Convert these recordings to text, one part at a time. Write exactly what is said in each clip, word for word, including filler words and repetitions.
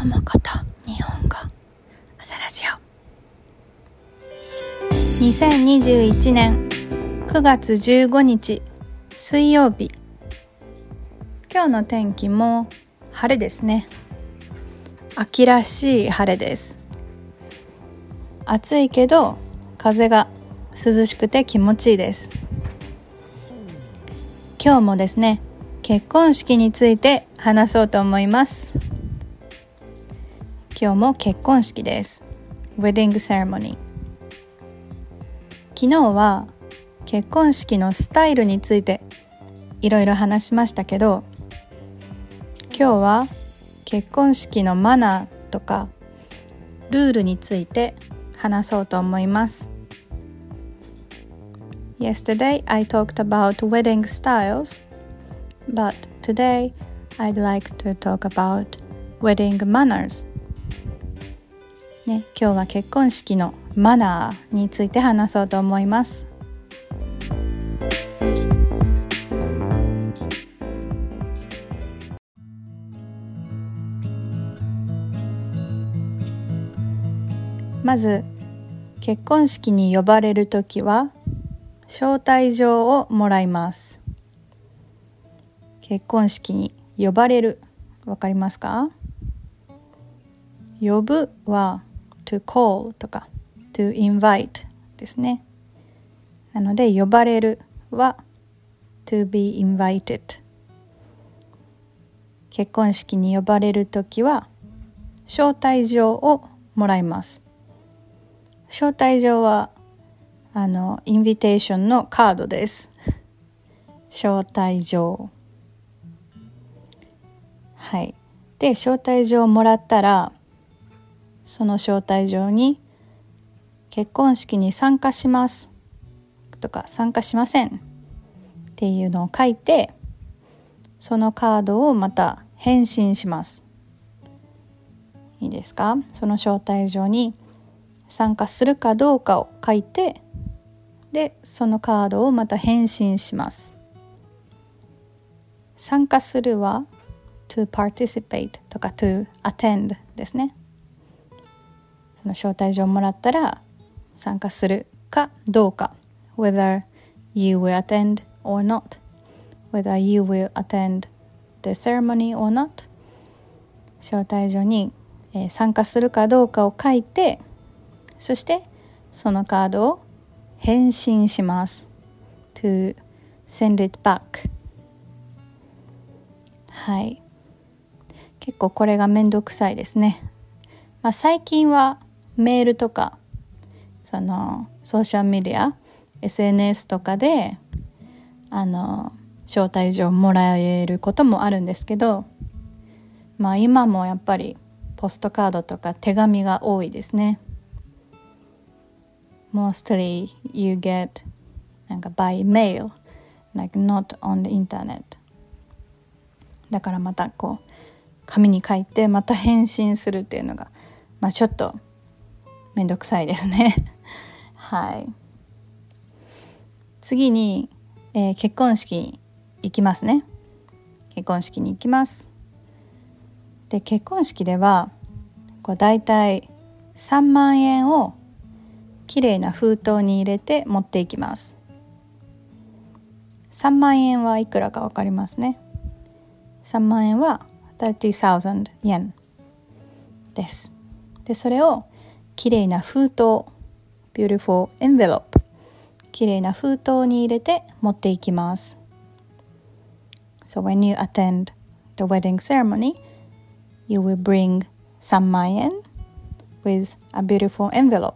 もこと日本語朝ラジオにせんにじゅういちねんくがつじゅうごにち水曜日。今日の天気も晴れですね。秋らしい晴れです。暑いけど風が涼しくて気持ちいいです。今日もですね、結婚式について話そうと思います。今日も結婚式です。 Wedding Ceremony。 昨日は結婚式のスタイルについていろいろ話しましたけど、今日は結婚式のマナーとかルールについて話そうと思います。 Yesterday I talked about wedding styles, but today I'd like to talk about wedding manners。ね、今日は結婚式のマナーについて話そうと思います。まず、結婚式に呼ばれるときは招待状をもらいます。結婚式に呼ばれる、わかりますか？呼ぶは to call とか to invite ですね。なので呼ばれるは to be invited。結婚式に呼ばれるときは招待状をもらいます。招待状はあのインビテーションのカードです。招待状。はい。で、招待状をもらったら、その招待状に結婚式に参加しますとか参加しませんっていうのを書いて、そのカードをまた返信します。いいですか？その招待状に参加するかどうかを書いて、で、そのカードをまた返信します。参加するは to participate とか to attend ですね。その招待状をもらったら参加するかどうか whether you will attend or not whether you will attend the ceremony or not 招待状に、えー、参加するかどうかを書いて、そしてそのカードを返信します to send it back。 はい、結構これがめんどくさいですね。まあ、最近はメールとかそのソーシャルメディア エスエヌエス とかであの招待状もらえることもあるんですけど、まあ今もやっぱりポストカードとか手紙が多いですね。Mostly you get なんか by mail like not on the internet。 だからまたこう紙に書いてまた返信するっていうのがまあちょっとめんどくさいですねはい。次に、えー、結婚式に行きますね。結婚式に行きます。で、結婚式ではこうだいたいさんまんえんをきれいな封筒に入れて持っていきます。さんまんえんはいくらかわかりますね。さんまんえんはさんじゅうさんぜんえんです。で、それをきれいな封筒 beautiful envelope きれいな封筒に入れて持っていきます。 So when you attend the wedding ceremony you will bring さんまんえん with a beautiful envelope。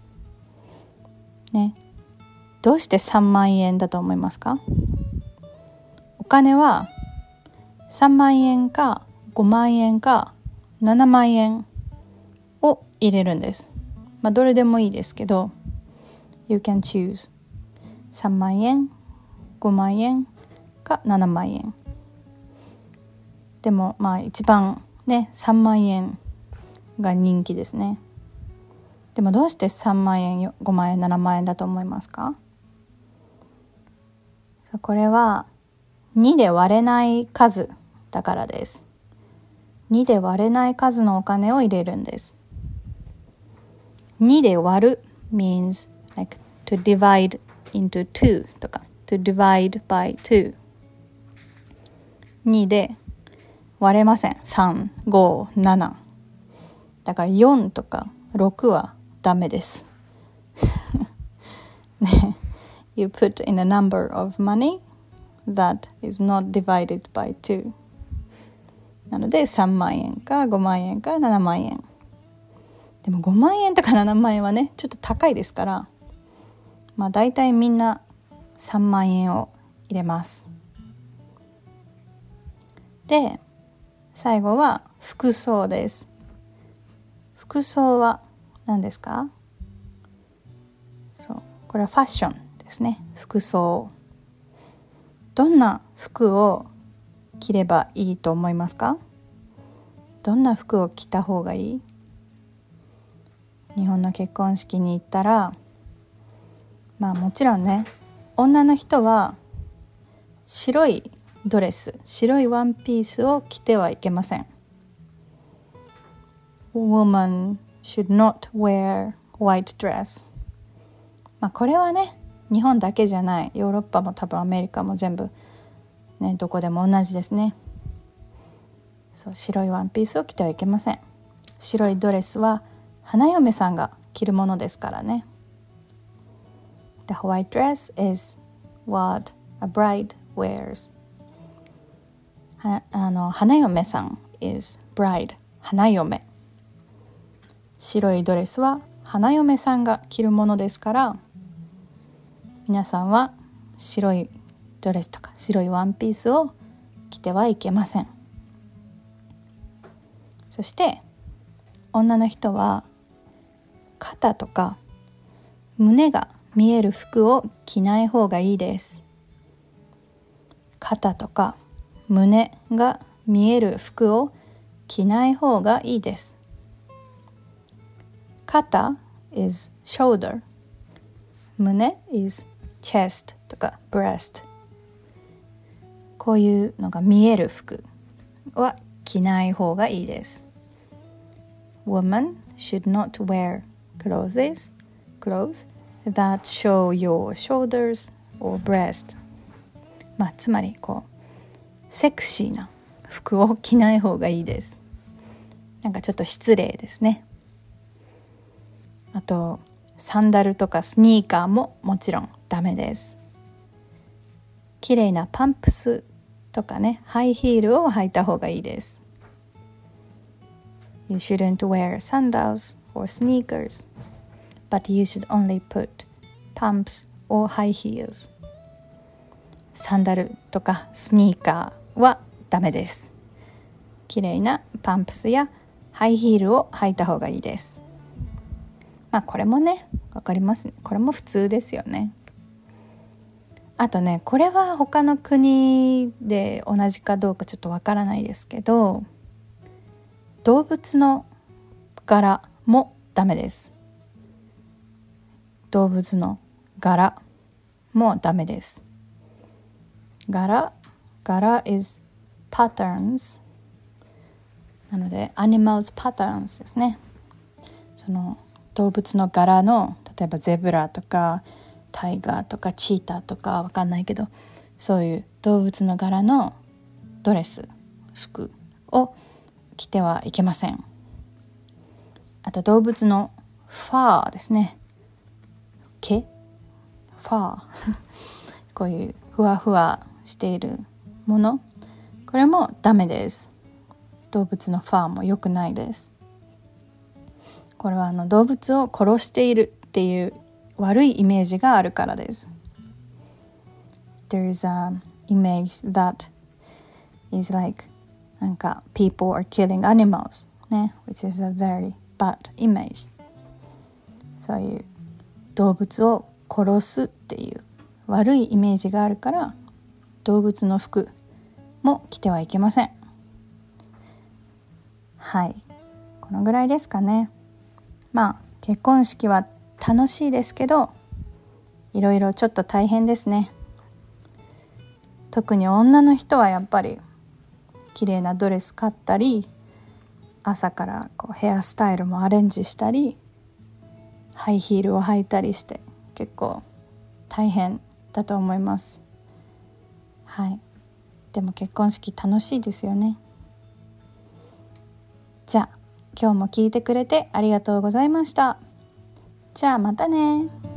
ね、どうしてさんまんえんだと思いますか？お金はさんまんえんかごまんえんかななまんえんを入れるんです。まあどれでもいいですけど You can choose さんまんえん、ごまんえんかななまんえん。でもまあ一番ねさんまんえんが人気ですね。でもどうしてさんまんえん、ごまんえん、ななまんえんだと思いますか？そう、これはにで割れない数だからです。 にで割れない数のお金を入れるんです。にで割る means like to divide into two とか to divide by two。 にで割れません。さん、ご、ななだからよんとかろくはダメですね、You put in a number of money that is not divided by two。 なのでさんまんえんかごまんえんかななまんえん。でもごまんえんとかななまんえんはねちょっと高いですから、まあだいたいみんなさんまんえんを入れます。で最後は服装です。服装は何ですか？そう、これはファッションですね。服装。どんな服を着ればいいと思いますか？どんな服を着た方がいい？日本の結婚式に行ったら、まあもちろんね、女の人は白いドレス、白いワンピースを着てはいけません。Woman should not wear white dress。まあこれはね、日本だけじゃない、ヨーロッパも多分アメリカも全部ね、どこでも同じですね。そう、白いワンピースを着てはいけません。白いドレスは花嫁さんが着るものですからね。The white dress is what a bride wears。はあの花嫁さん is bride。花嫁。白いドレスは花嫁さんが着るものですから、皆さんは白いドレスとか白いワンピースを着てはいけません。そして女の人は肩とか胸が見える服を着ない方がいいです。肩とか胸が見える服を着ない方がいいです。肩 is shoulder、 胸 is chest とか breast。 こういうのが見える服は着ない方がいいです。 Woman should not wear clothes, clothes that show your shoulders or breast。 まあつまりこうセクシーな服を着ない方がいいです。なんかちょっと失礼ですね。あとサンダルとかスニーカーももちろんダメです。綺麗なパンプスとかね、ハイヒールを履いた方がいいです。You shouldn't wear sandals or sneakers, but you should only put pumps or high heels。 サンダルとかスニーカーはダメです。綺麗なパンプスやハイヒールを履いた方がいいです。まあこれもね、わかりますね。これも普通ですよね。あとね、これは他の国で同じかどうかちょっとわからないですけど、動物の柄もダメです。動物の柄もダメです。柄、柄 is patterns。なので animals patterns ですね。その動物の柄の、例えばゼブラとかタイガーとかチーターとかわかんないけど、そういう動物の柄のドレス、服を着てはいけません。あと動物のファーですね。毛、ファーこういうふわふわしているもの、これもダメです。動物のファーも良くないです。これはあの動物を殺しているっていう悪いイメージがあるからです。There is an image that is like なんか people are killing animals ね、which is a very bad image。 そういう動物を殺すっていう悪いイメージがあるから、動物の服も着てはいけません。はい、このぐらいですかね。まあ結婚式は楽しいですけど、いろいろちょっと大変ですね。特に女の人はやっぱり綺麗なドレス買ったり、 朝からこうヘアスタイルもアレンジしたり、ハイヒールを履いたりして、結構大変だと思います。はい。でも結婚式楽しいですよね。じゃあ今日も聞いてくれてありがとうございました。じゃあまたね。